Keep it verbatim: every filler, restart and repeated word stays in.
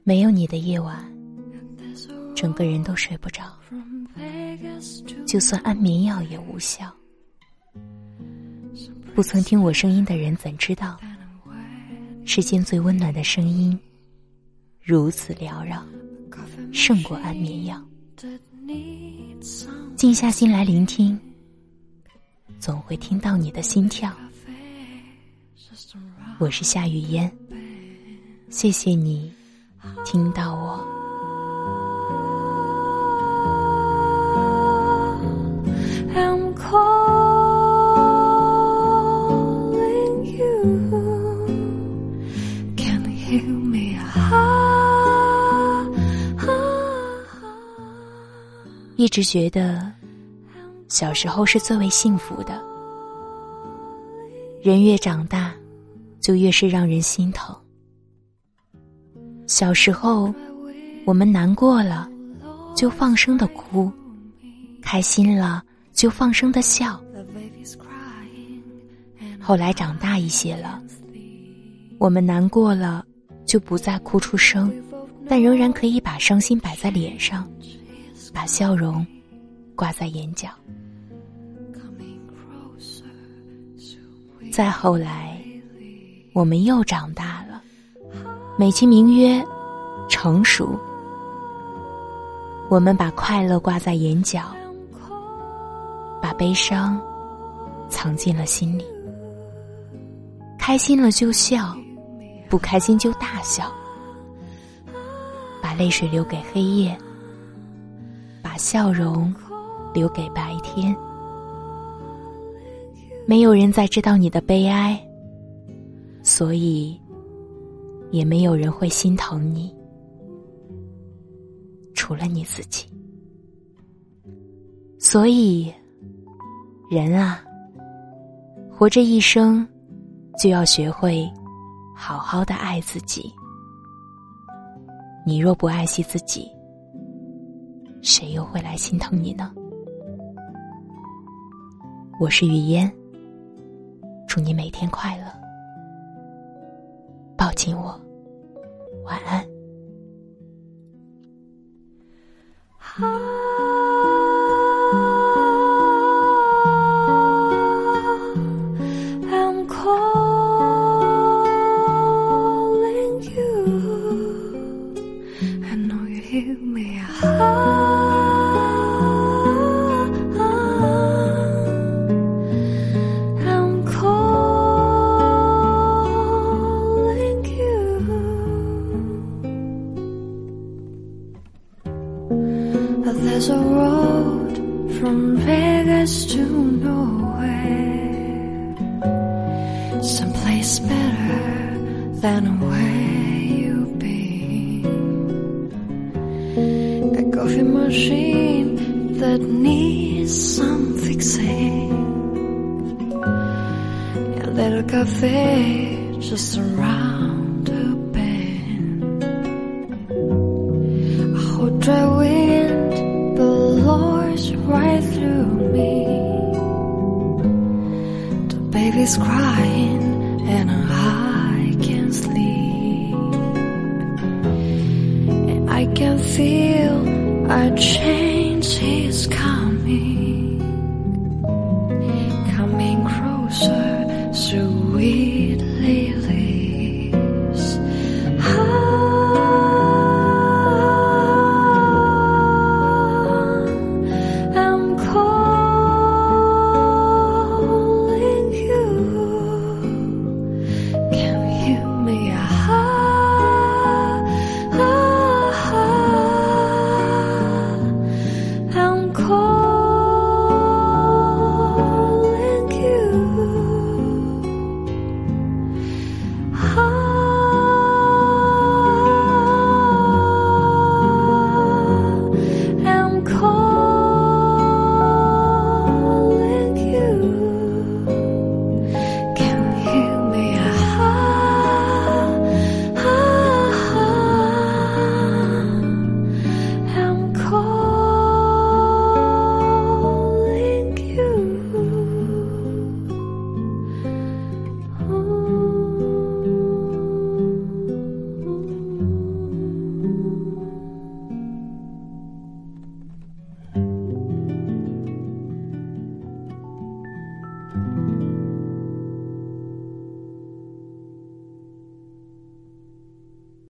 没有你的夜晚，整个人都睡不着，就算安眠药也无效。不曾听我声音的人怎知道，世间最温暖的声音如此缭绕，胜过安眠药。静下心来聆听，总会听到你的心跳。我是夏雨嫣，谢谢你听到我。I'm calling you, can you hear me? Ah, 一直觉得小时候是最为幸福的，人越长大就越是让人心疼。小时候我们难过了就放声的哭，开心了就放声的笑。后来长大一些了，我们难过了就不再哭出声，但仍然可以把伤心摆在脸上，把笑容挂在眼角。再后来我们又长大了，美其名曰成熟。我们把快乐挂在眼角，把悲伤藏进了心里。开心了就笑，不开心就大笑。把泪水留给黑夜，把笑容留给白天。没有人再知道你的悲哀，所以也没有人会心疼你，除了你自己。所以人啊，活着一生就要学会好好的爱自己。你若不爱惜自己，谁又会来心疼你呢？我是雨嫣，祝你每天快乐，抱紧我，晚安。I'm calling you, I know you hear me. I'm calling you. There's a road from Vegas to nowhere, someplace better than where you've been. A coffee machine that needs some fixing, a little cafe just around the bend. I hold dry wind blows right through me. The baby's crying and I can't sleep, and I can feel a change is coming.